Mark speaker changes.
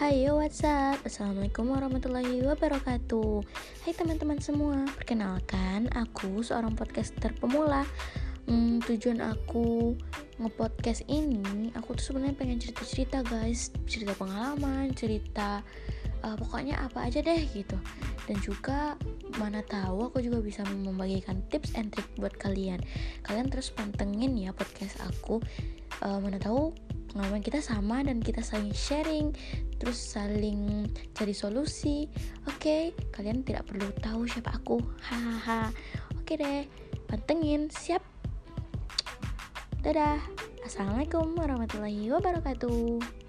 Speaker 1: Hai yo, what's up? Assalamualaikum warahmatullahi wabarakatuh. Hai teman-teman semua, perkenalkan aku seorang podcaster pemula. Tujuan aku nge-podcast ini, aku tuh sebenarnya pengen cerita-cerita guys, cerita pengalaman, cerita pokoknya apa aja deh gitu. Dan juga mana tahu aku juga bisa membagikan tips and trick buat kalian. Kalian terus pantengin ya podcast aku. Mana tahu pengalaman kita sama dan kita saling sharing, terus saling cari solusi. Oke, kalian tidak perlu tahu siapa aku. Hahaha. Oke deh, pantengin, siap. Dadah. Assalamualaikum warahmatullahi wabarakatuh.